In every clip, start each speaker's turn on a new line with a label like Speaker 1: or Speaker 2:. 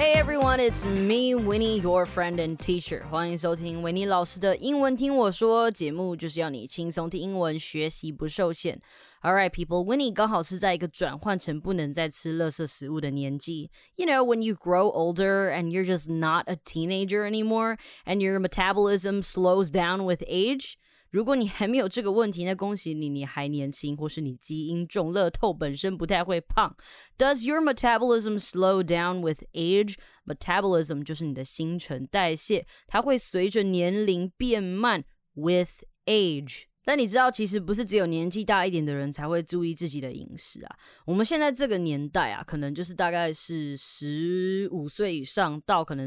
Speaker 1: Hey everyone, it's me, Winnie, your friend and teacher. 欢迎收听维尼老师的英文听我说，节目就是要你轻松听英文，学习不受限。Alright, people, Winnie 刚好是在一个转换成不能再吃垃圾食物的年纪。You know, when you grow older and you're just not a teenager anymore, and your metabolism slows down with age.如果你还没有这个问题，那恭喜你，你还年轻，或是你基因中乐透本身不太会胖。Does your metabolism slow down with age? Metabolism 就是你的新陈代谢，它会随着年龄变慢 with age。但你知道，其实不是只有年纪大一点的人才会注意自己的饮食啊。我们现在这个年代啊，可能就是大概是15岁以上到可能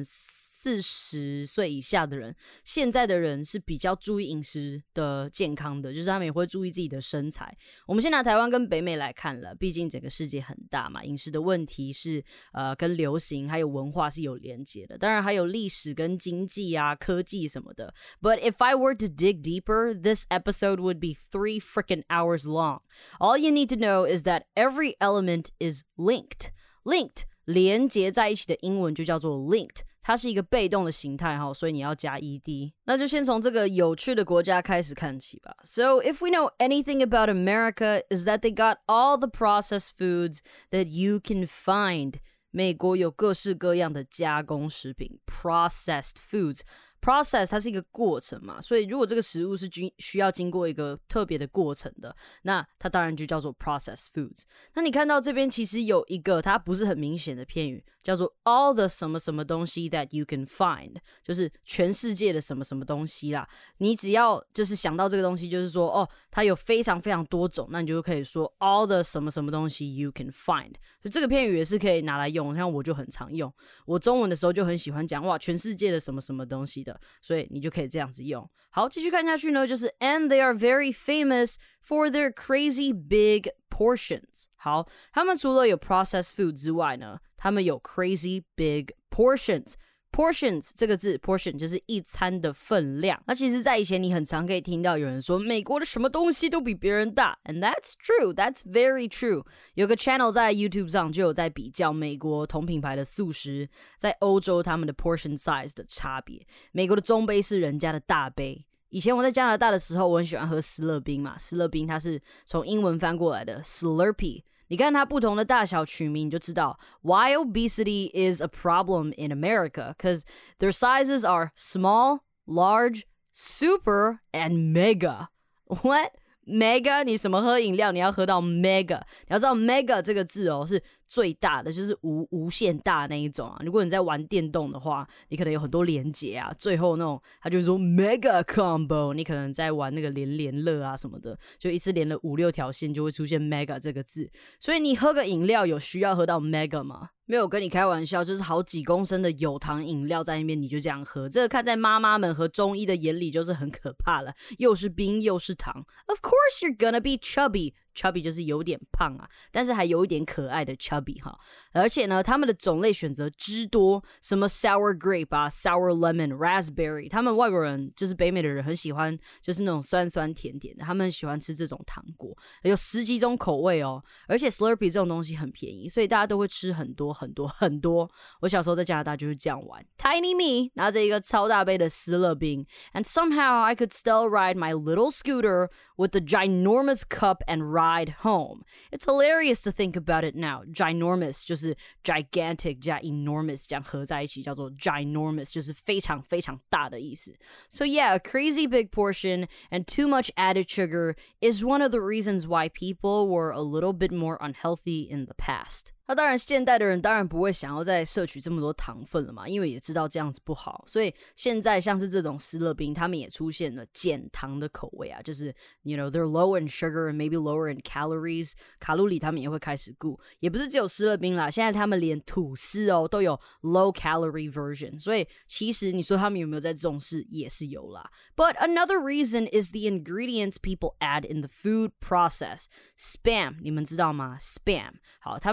Speaker 1: 40岁以下的人，现在的人是比较注意饮食的健康的，就是他们也会注意自己的身材。我们先拿台湾跟北美来看了，毕竟整个世界很大嘛，饮食的问题是跟流行还有文化是有连结的，当然还有历史跟经济啊、科技什么的。But if I were to dig deeper, this episode would be 3 freaking hours long. All you need to know is that every element is linked. Linked 连结在一起的英文就叫做 linked。它是一个被动的形态，所以你要加 ed。那就先从这个有趣的国家开始看起吧。So if we know anything about America, is that they got all the processed foods that you can find. 美国有各式各样的加工食品 processed foods。Process 它是一个过程嘛，所以如果这个食物是需要经过一个特别的过程的，那它当然就叫做 processed foods。那你看到这边其实有一个它不是很明显的片语，叫做 all the 什么什么东西 that you can find， 就是全世界的什么什么东西啦。你只要就是想到这个东西，就是说它有非常非常多种，那你就可以说 all the 什么什么东西 you can find。所以这个片语也是可以拿来用，像我就很常用。我中文的时候就很喜欢讲哇，全世界的什么什么东西的。所以你就可以这样子用。好，继续看下去呢，就是 and they are very famous for their crazy big portions。好，他们除了有 processed food 之外呢，他们有 crazy big portions。Portions 这个字 portion 就是一餐的分量。那其实在以前你很常可以听到有人说美国的什么东西都比别人大， and that's true, that's very true。 有个 channel 在 YouTube 上就有在比较美国同品牌的素食在欧洲他们的 portion size 的差别。美国的中杯是人家的大杯。以前我在加拿大的时候，我很喜欢喝思乐冰嘛，思乐冰它是从英文翻过来的 Slurpee。你看它不同的大小取名，你就知道 why obesity is a problem in America, because their sizes are small, large, super, and mega. What? Mega? 你什么喝饮料你要喝到 mega？ 你要知道 mega 这个字是最大的，就是无限大那一种啊。如果你在玩电动的话，你可能有很多连结啊，最后那种他就说 mega combo， 你可能在玩那个连乐啊什么的，就一次连了5-6条线就会出现 mega 这个字。所以你喝个饮料有需要喝到 mega 吗？没有跟你开玩笑，就是好几公升的有糖饮料在那边你就这样喝，这个看在妈妈们和中医的眼里就是很可怕了，又是冰又是糖。Of course you're gonna be chubby。Chubby 就是有点胖啊，但是还有一点可爱的 chubby 哈。而且呢，他们的种类选择之多，什么 sour grape 啊 ，sour lemon, raspberry， 他们外国人就是北美的人很喜欢，就是那种酸酸甜甜的，他们很喜欢吃这种糖果，有10几种口味哦。而且 Slurpee 这种东西很便宜，所以大家都会吃很多很多很多。我小时候在加拿大就是这样玩 ，Tiny me 拿着一个超大杯的思乐冰 ，and somehow I could still ride my little scooter with the ginormous cup and ride home. It's hilarious to think about it now. Ginormous 就是 gigantic 加 enormous 这样合在一起叫做 ginormous， 就是非常非常大的意思。So yeah, a crazy big portion and too much added sugar is one of the reasons why people were a little bit more unhealthy in the past. 那当然现代的人当然不会想要再摄取这么多糖分了嘛，因为也知道这样子不好，所以现在像是这种思乐冰他们也出现了减糖的口味啊，就是 you know they're low in sugar and maybe lower in calories， 卡路里他们也会开始顾，也不是只有思乐冰啦，现在他们连吐司都有 low calorie version， 所以其实你说他们有没有在重视也是有啦。 But another reason is the ingredients people add in the food process. Spam 你们知道吗？ Spam 好，他们会加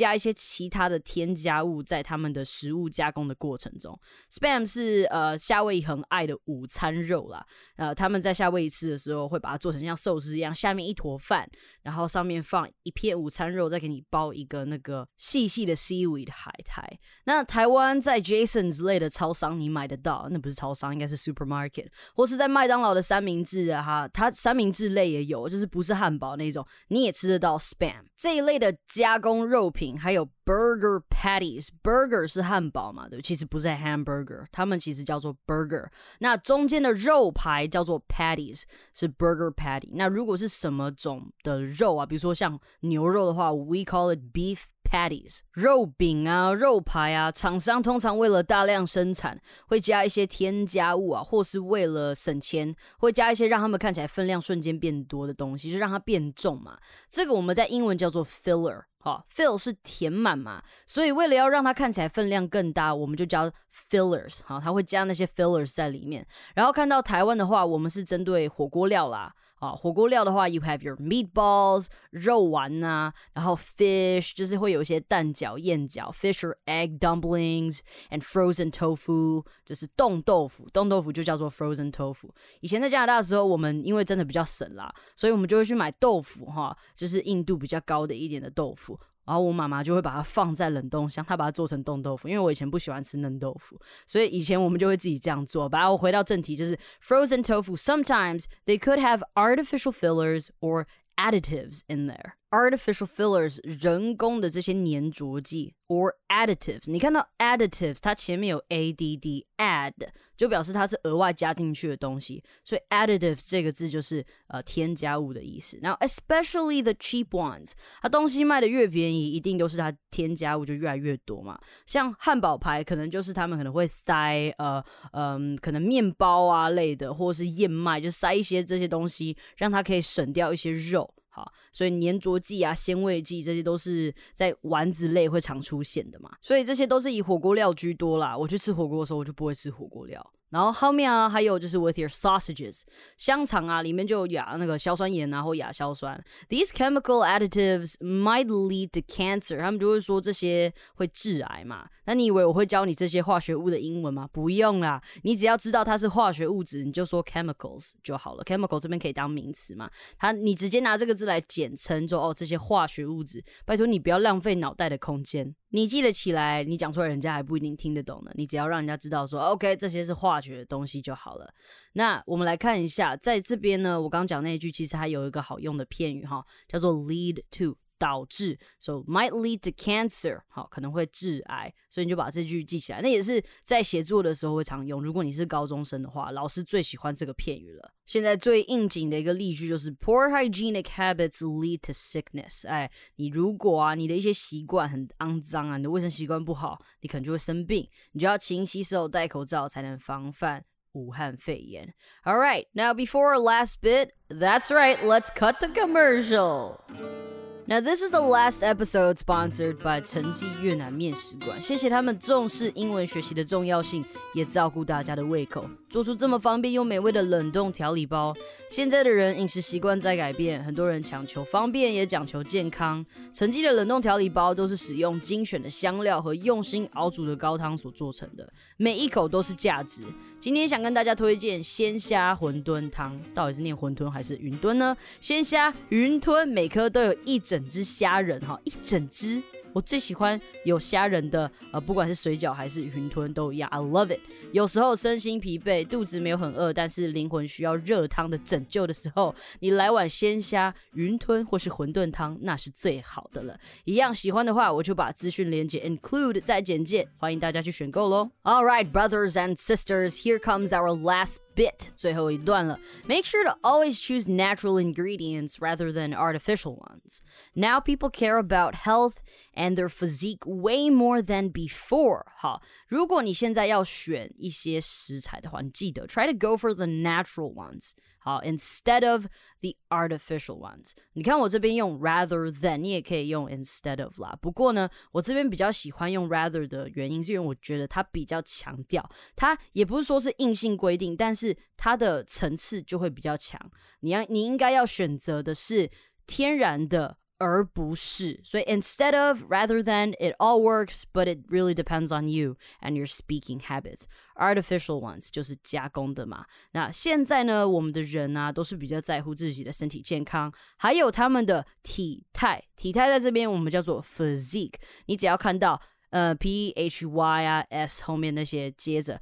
Speaker 1: 加一些其他的添加物在他们的食物加工的过程中。Spam 是夏威夷很爱的午餐肉啦，他们在夏威夷吃的时候会把它做成像寿司一样，下面一坨饭，然后上面放一片午餐肉，再给你包一个那个细细的 seaweed 海苔。那台湾在 Jason's 类的超商你买得到，那不是超商，应该是 supermarket， 或是在麦当劳的三明治啊，它三明治类也有，就是不是汉堡那种，你也吃得到 Spam 这一类的加工肉品。还有 burger patties， burger 是汉堡嘛，对，其实不是 hamburger， 他们其实叫做 burger。那中间的肉排叫做 patties， 是 burger patty。那如果是什么种的肉啊，比如说像牛肉的话 ，we call it beef patties。肉饼啊、肉排啊，厂商通常为了大量生产，会加一些添加物啊，或是为了省钱，会加一些让他们看起来分量瞬间变多的东西，就让它变重嘛。这个我们在英文叫做 filler。fill 是填满嘛，所以为了要让它看起来分量更大，我们就叫 fillers。它会加那些 fillers 在里面。然后看到台湾的话，我们是针对火锅料啦。火锅料的话 you have your meatballs 肉丸啊，然后 fish 就是会有一些蛋饺、燕饺 fish or egg dumplings and frozen tofu 就是冻豆腐，冻豆腐就叫做 frozen tofu。以前在加拿大的时候，我们因为真的比较省啦，所以我们就会去买豆腐就是硬度比较高的一点的豆腐。然后我妈妈就会把它放在冷冻箱，她把它做成冻豆腐，因为我以前不喜欢吃嫩豆腐，所以以前我们就会自己这样做。然后回到正题，就是 frozen tofu sometimes they could have artificial fillers or additives in there. Artificial fillers 人工的这些粘着剂 or additives， 你看到 additives 它前面有 add add 就表示它是额外加进去的东西，所以 additives 这个字就是添加物的意思。Now especially the cheap ones， 它东西卖的越便宜，一定都是它添加物就越来越多嘛。像汉堡排可能就是他们可能会塞可能面包啊类的，或是燕麦，就塞一些这些东西，让它可以省掉一些肉。好，所以粘着剂啊、鲜味剂这些都是在丸子类会常出现的嘛，所以这些都是以火锅料居多啦。我去吃火锅的时候，我就不会吃火锅料。然后后面啊，还有就是 with your sausages， 香肠啊，里面就有那个硝酸盐啊或亚硝酸。These chemical additives might lead to cancer， 他们就会说这些会致癌嘛。那你以为我会教你这些化学物的英文吗？不用啦，你只要知道它是化学物质，你就说 chemicals 就好了。chemical 这边可以当名词嘛，你直接拿这个字来简称，说这些化学物质。拜托你不要浪费脑袋的空间。你记得起来，你讲出来人家还不一定听得懂呢。你只要让人家知道说 OK 这些是化学的东西就好了。那我们来看一下，在这边呢，我刚讲那一句其实还有一个好用的片语叫做 lead to， 导致 so might lead to cancer， 可能会致癌，所以你就把这句记起来。那也是在写作的时候会常用，如果你是高中生的话，老师最喜欢这个片语了。现在最应景的一个例句就是 Poor hygienic habits lead to sickness。 你如果你的一些习惯很肮脏啊，你的卫生习惯不好，你可能就会生病，你就要勤洗手、戴口罩，才能防范武汉肺炎。 Alright, now before our last bit, that's right, let's cut the commercial.Now this is the last episode sponsored by 陈记越南面食馆，谢谢他们重视英文学习的重要性，也照顾大家的胃口，做出这么方便又美味的冷冻调理包。现在的人饮食习惯在改变，很多人强求方便也讲求健康。陈记的冷冻调理包都是使用精选的香料和用心熬煮的高汤所做成的，每一口都是价值。今天想跟大家推荐鲜虾馄饨汤，到底是念馄饨还是云吞呢？鲜虾云吞，每颗都有一整只虾仁，一整只。我最喜欢有虾仁的，不管是水饺还是云吞都一样 I love it。 有时候身心疲惫，肚子没有很饿，但是灵魂需要热汤的拯救的时候，你来碗鲜虾云吞或是馄饨汤，那是最好的了。一样喜欢的话，我就把资讯连结 include 在简介，欢迎大家去选购咯。 Alright brothers and sisters, here comes our last bit， 最后一段了。 Make sure to always choose natural ingredients rather than artificial ones. Now people care about health and their physique way more than before. 好，如果你现在要选一些食材的话，你记得 try to go for the natural ones. 好 instead of the artificial ones. 你看我这边用 rather than， 你也可以用 instead of 啦。不过呢，我这边比较喜欢用 rather 的原因，是因为我觉得它比较强调，它也不是说是硬性规定，但是它的层次就会比较强。你应该要选择的是天然的而不是，所以 instead of, rather than, it all works, but it really depends on you and your speaking habits. Artificial ones 就是加工的嘛。那现在呢，我们的人啊，都是比较在乎自己的身体健康，还有他们的体态。体态在这边我们叫做 physique。你只要看到P-H-Y 啊 S 后面那些接着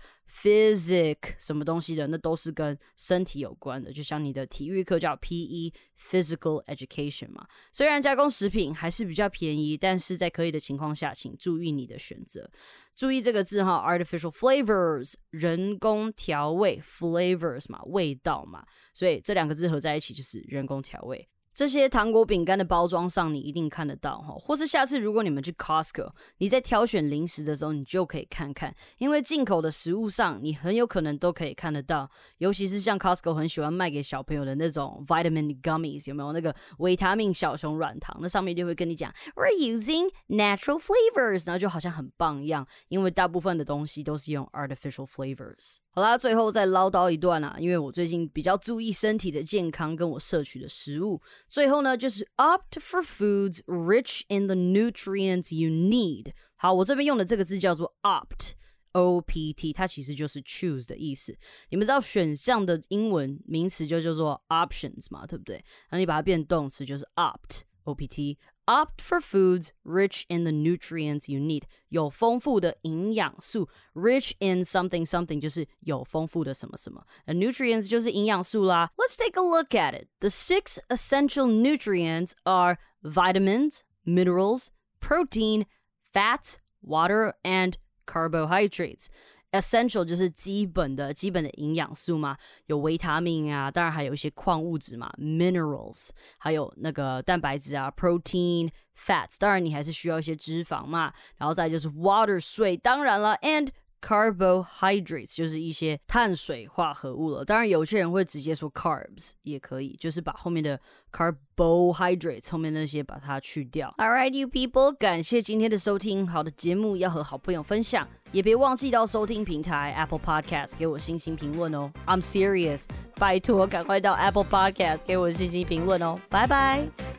Speaker 1: physic 什么东西的，那都是跟身体有关的，就像你的体育课叫 PE Physical Education 嘛。虽然加工食品还是比较便宜，但是在可以的情况下，请注意你的选择。注意这个字哈 ，artificial flavors 人工调味 flavors 嘛，味道嘛，所以这两个字合在一起就是人工调味。这些糖果饼干的包装上你一定看得到，或是下次如果你们去 Costco， 你在挑选零食的时候你就可以看看，因为进口的食物上你很有可能都可以看得到，尤其是像 Costco 很喜欢卖给小朋友的那种 vitamin gummies， 有没有那个维他命小熊软糖，那上面就会跟你讲 We're using natural flavors， 然后就好像很棒一样，因为大部分的东西都是用 artificial flavors。 好啦，最后再唠叨一段因为我最近比较注意身体的健康跟我摄取的食物，最后呢，就是 opt for foods rich in the nutrients you need。 好，我这边用的这个字叫做 opt O-P-T， 它其实就是 choose 的意思。你们知道选项的英文名词就叫做 options 嘛，对不对？那你把它变动词就是 opt O-P-T。Opt for foods rich in the nutrients you need， 有丰富的营养素 rich in something something 就是有丰富的什么什么， nutrients 就是营养素啦。 Let's take a look at it. The 6 essential nutrients are vitamins, minerals, protein, fat, water, and carbohydrates. Essential 就是基本的营养素嘛，有维他命啊，当然还有一些矿物质嘛 minerals， 还有那个蛋白质啊 protein fats， 当然你还是需要一些脂肪嘛，然后再就是 water 水，当然了 and carbohydrates 就是一些碳水化合物了，当然有些人会直接说 carbs 也可以，就是把后面的 carbohydrates 后面那些把它去掉。 Alright you people， 感谢今天的收听，好的节目要和好朋友分享，也别忘记到收听平台 Apple Podcast 给我星星评论哦。 I'm serious， 拜托赶快到 Apple Podcast 给我星星评论哦，拜拜。